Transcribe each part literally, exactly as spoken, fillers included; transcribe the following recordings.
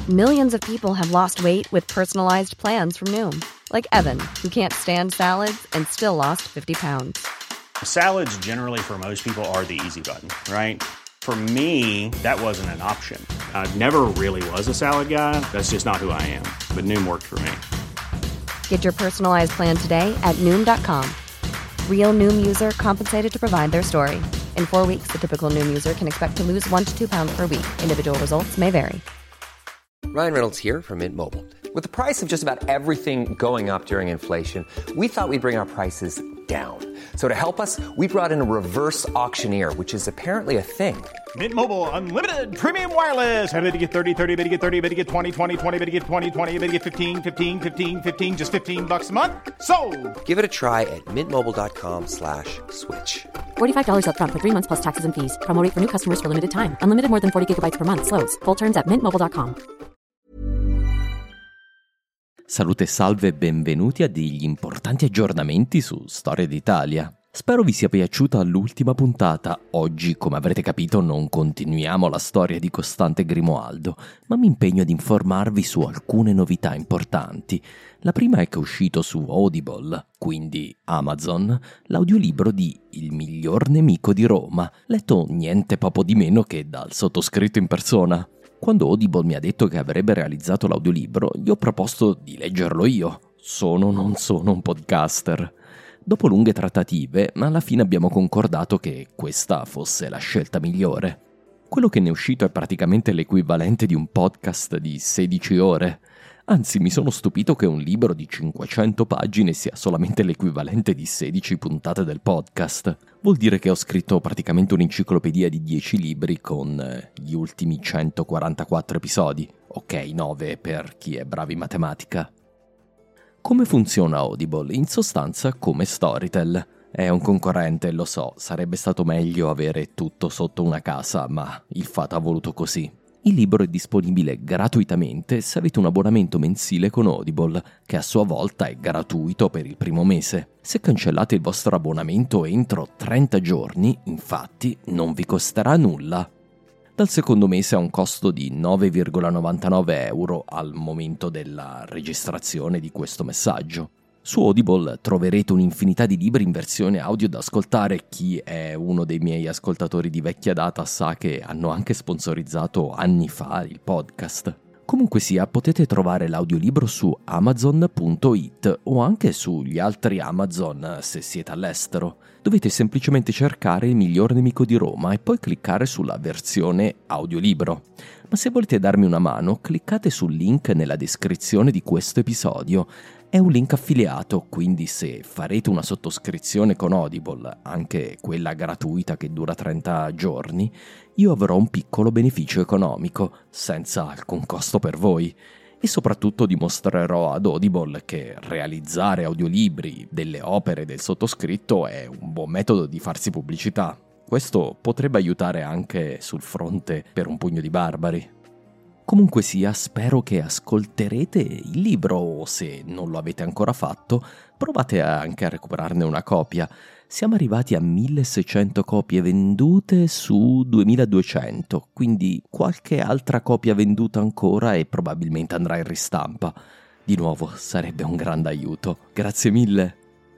Millions of people have lost weight with personalized plans from Noom. Like Evan, who can't stand salads and still lost fifty pounds. Salads generally for most people are the easy button, right? For me, that wasn't an option. I never really was a salad guy. That's just not who I am. But Noom worked for me. Get your personalized plan today at Noom dot com. Real Noom user compensated to provide their story. In four weeks, the typical Noom user can expect to lose one to two pounds per week. Individual results may vary. Ryan Reynolds here from Mint Mobile. With the price of just about everything going up during inflation, we thought we'd bring our prices down. So to help us, we brought in a reverse auctioneer, which is apparently a thing. Mint Mobile Unlimited Premium Wireless. How to get thirty, thirty, how to get thirty, how to get twenty, twenty, twenty, how to get twenty, twenty, how to get fifteen, fifteen, fifteen, fifteen, just fifteen bucks a month? Sold! Give it a try at mintmobile.com slash switch. forty-five dollars up front for three months plus taxes and fees. Promo rate for new customers for limited time. Unlimited more than forty gigabytes per month. Slows full terms at mint mobile dot com. Salute e salve e benvenuti a degli importanti aggiornamenti su Storia d'Italia. Spero vi sia piaciuta l'ultima puntata. Oggi, come avrete capito, non continuiamo la storia di Costante Grimoaldo, ma mi impegno ad informarvi su alcune novità importanti. La prima è che è uscito su Audible, quindi Amazon, l'audiolibro di Il miglior nemico di Roma, letto niente poco di meno che dal sottoscritto in persona. Quando Audible mi ha detto che avrebbe realizzato l'audiolibro, gli ho proposto di leggerlo io. Sono o non sono un podcaster. Dopo lunghe trattative, alla fine abbiamo concordato che questa fosse la scelta migliore. Quello che ne è uscito è praticamente l'equivalente di un podcast di sedici ore. Anzi, mi sono stupito che un libro di cinquecento pagine sia solamente l'equivalente di sedici puntate del podcast. Vuol dire che ho scritto praticamente un'enciclopedia di dieci libri con gli ultimi centoquarantaquattro episodi. Ok, nove per chi è bravo in matematica. Come funziona Audible? In sostanza come Storytel. È un concorrente, lo so, sarebbe stato meglio avere tutto sotto una casa, ma il fato ha voluto così. Il libro è disponibile gratuitamente se avete un abbonamento mensile con Audible, che a sua volta è gratuito per il primo mese. Se cancellate il vostro abbonamento entro trenta giorni, infatti, non vi costerà nulla. Dal secondo mese ha un costo di nove virgola novantanove euro al momento della registrazione di questo messaggio. Su Audible troverete un'infinità di libri in versione audio da ascoltare. Chi è uno dei miei ascoltatori di vecchia data sa che hanno anche sponsorizzato anni fa il podcast. Comunque sia, potete trovare l'audiolibro su amazon punto it o anche sugli altri Amazon se siete all'estero. Dovete semplicemente cercare Il miglior nemico di Roma e poi cliccare sulla versione audiolibro. Ma se volete darmi una mano, cliccate sul link nella descrizione di questo episodio. È un link affiliato, quindi se farete una sottoscrizione con Audible, anche quella gratuita che dura trenta giorni, io avrò un piccolo beneficio economico, senza alcun costo per voi. E soprattutto dimostrerò ad Audible che realizzare audiolibri delle opere del sottoscritto è un buon metodo di farsi pubblicità. Questo potrebbe aiutare anche sul fronte per un pugno di barbari. Comunque sia, spero che ascolterete il libro o se non lo avete ancora fatto, provate anche a recuperarne una copia. Siamo arrivati a milleseicento copie vendute su duemiladuecento, quindi qualche altra copia venduta ancora e probabilmente andrà in ristampa. Di nuovo, sarebbe un grande aiuto. Grazie mille!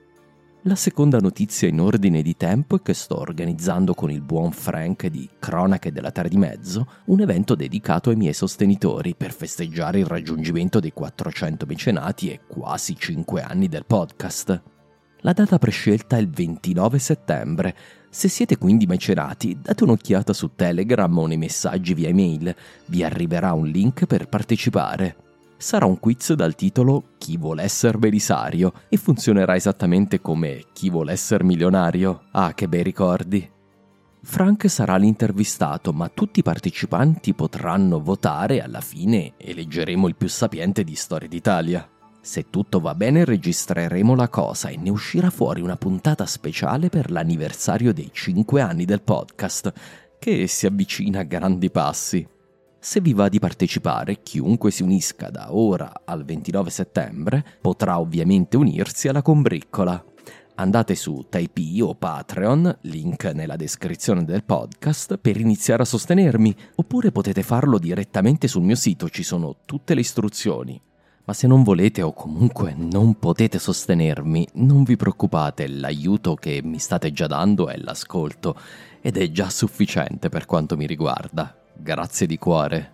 La seconda notizia in ordine di tempo è che sto organizzando con il buon Frank di Cronache della Terra di Mezzo un evento dedicato ai miei sostenitori per festeggiare il raggiungimento dei quattrocento mecenati e quasi cinque anni del podcast. La data prescelta è il ventinove settembre. Se siete quindi mecenati, date un'occhiata su Telegram o nei messaggi via email. Vi arriverà un link per partecipare. Sarà un quiz dal titolo Chi vuole essere Belisario e funzionerà esattamente come Chi vuole essere milionario. Ah, che bei ricordi! Frank sarà l'intervistato, ma tutti i partecipanti potranno votare e alla fine eleggeremo il più sapiente di Storia d'Italia. Se tutto va bene registreremo la cosa e ne uscirà fuori una puntata speciale per l'anniversario dei cinque anni del podcast, che si avvicina a grandi passi. Se vi va di partecipare, chiunque si unisca da ora al ventinove settembre potrà ovviamente unirsi alla combriccola. Andate su Tipeee o Patreon, link nella descrizione del podcast, per iniziare a sostenermi, oppure potete farlo direttamente sul mio sito, ci sono tutte le istruzioni. Ma se non volete o comunque non potete sostenermi, non vi preoccupate, l'aiuto che mi state già dando è l'ascolto ed è già sufficiente per quanto mi riguarda. Grazie di cuore.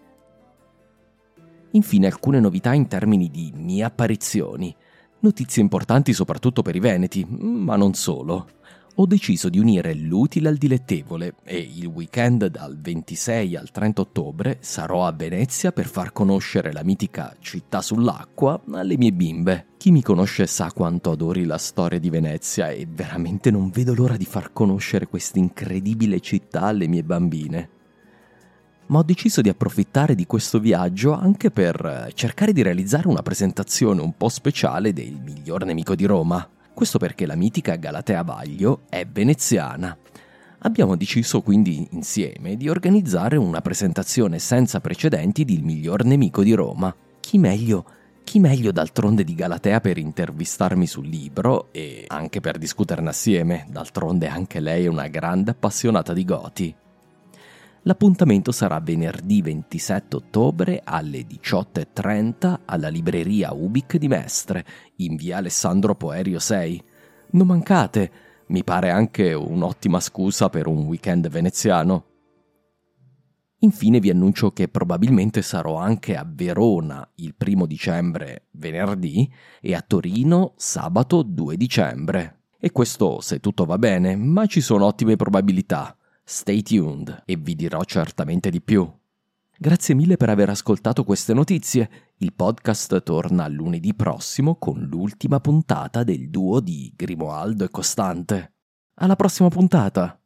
Infine alcune novità in termini di mie apparizioni. Notizie importanti soprattutto per i veneti, ma non solo. Ho deciso di unire l'utile al dilettevole e il weekend dal ventisei al trenta ottobre sarò a Venezia per far conoscere la mitica città sull'acqua alle mie bimbe. Chi mi conosce sa quanto adori la storia di Venezia e veramente non vedo l'ora di far conoscere questa incredibile città alle mie bambine. Ma ho deciso di approfittare di questo viaggio anche per cercare di realizzare una presentazione un po' speciale del miglior nemico di Roma. Questo perché la mitica Galatea Vaglio è veneziana. Abbiamo deciso quindi insieme di organizzare una presentazione senza precedenti di Il miglior nemico di Roma. Chi meglio? Chi meglio d'altronde di Galatea per intervistarmi sul libro e anche per discuterne assieme, d'altronde anche lei è una grande appassionata di Goti. L'appuntamento sarà venerdì ventisette ottobre alle diciotto e trenta alla libreria Ubic di Mestre, in via Alessandro Poerio sei. Non mancate, mi pare anche un'ottima scusa per un weekend veneziano. Infine vi annuncio che probabilmente sarò anche a Verona il primo dicembre, venerdì, e a Torino sabato due dicembre. E questo se tutto va bene, ma ci sono ottime probabilità. Stay tuned e vi dirò certamente di più. Grazie mille per aver ascoltato queste notizie. Il podcast torna lunedì prossimo con l'ultima puntata del duo di Grimoaldo e Costante. Alla prossima puntata!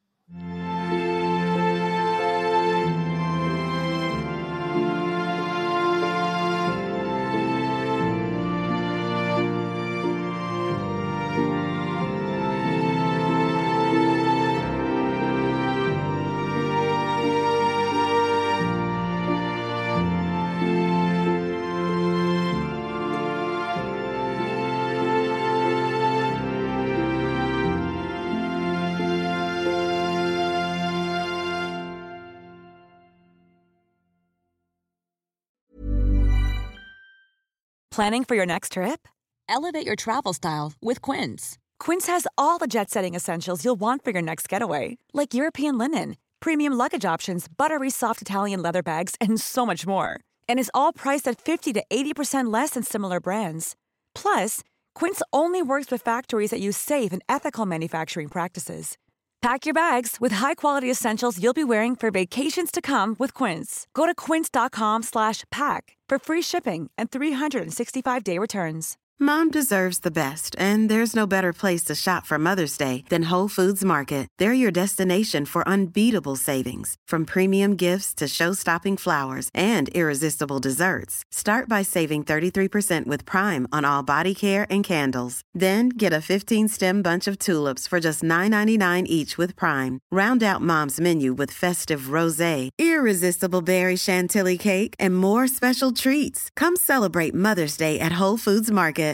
Planning for your next trip? Elevate your travel style with Quince. Quince has all the jet-setting essentials you'll want for your next getaway, like European linen, premium luggage options, buttery soft Italian leather bags, and so much more. And is all priced at fifty to eighty percent less than similar brands. Plus, Quince only works with factories that use safe and ethical manufacturing practices. Pack your bags with high-quality essentials you'll be wearing for vacations to come with Quince. Go to quince.com slash pack for free shipping and three sixty-five day returns. Mom deserves the best, and there's no better place to shop for Mother's Day than Whole Foods Market. They're your destination for unbeatable savings, from premium gifts to show-stopping flowers and irresistible desserts. Start by saving thirty-three percent with Prime on all body care and candles. Then get a fifteen-stem bunch of tulips for just nine ninety-nine each with Prime. Round out Mom's menu with festive rosé, irresistible berry chantilly cake, and more special treats. Come celebrate Mother's Day at Whole Foods Market.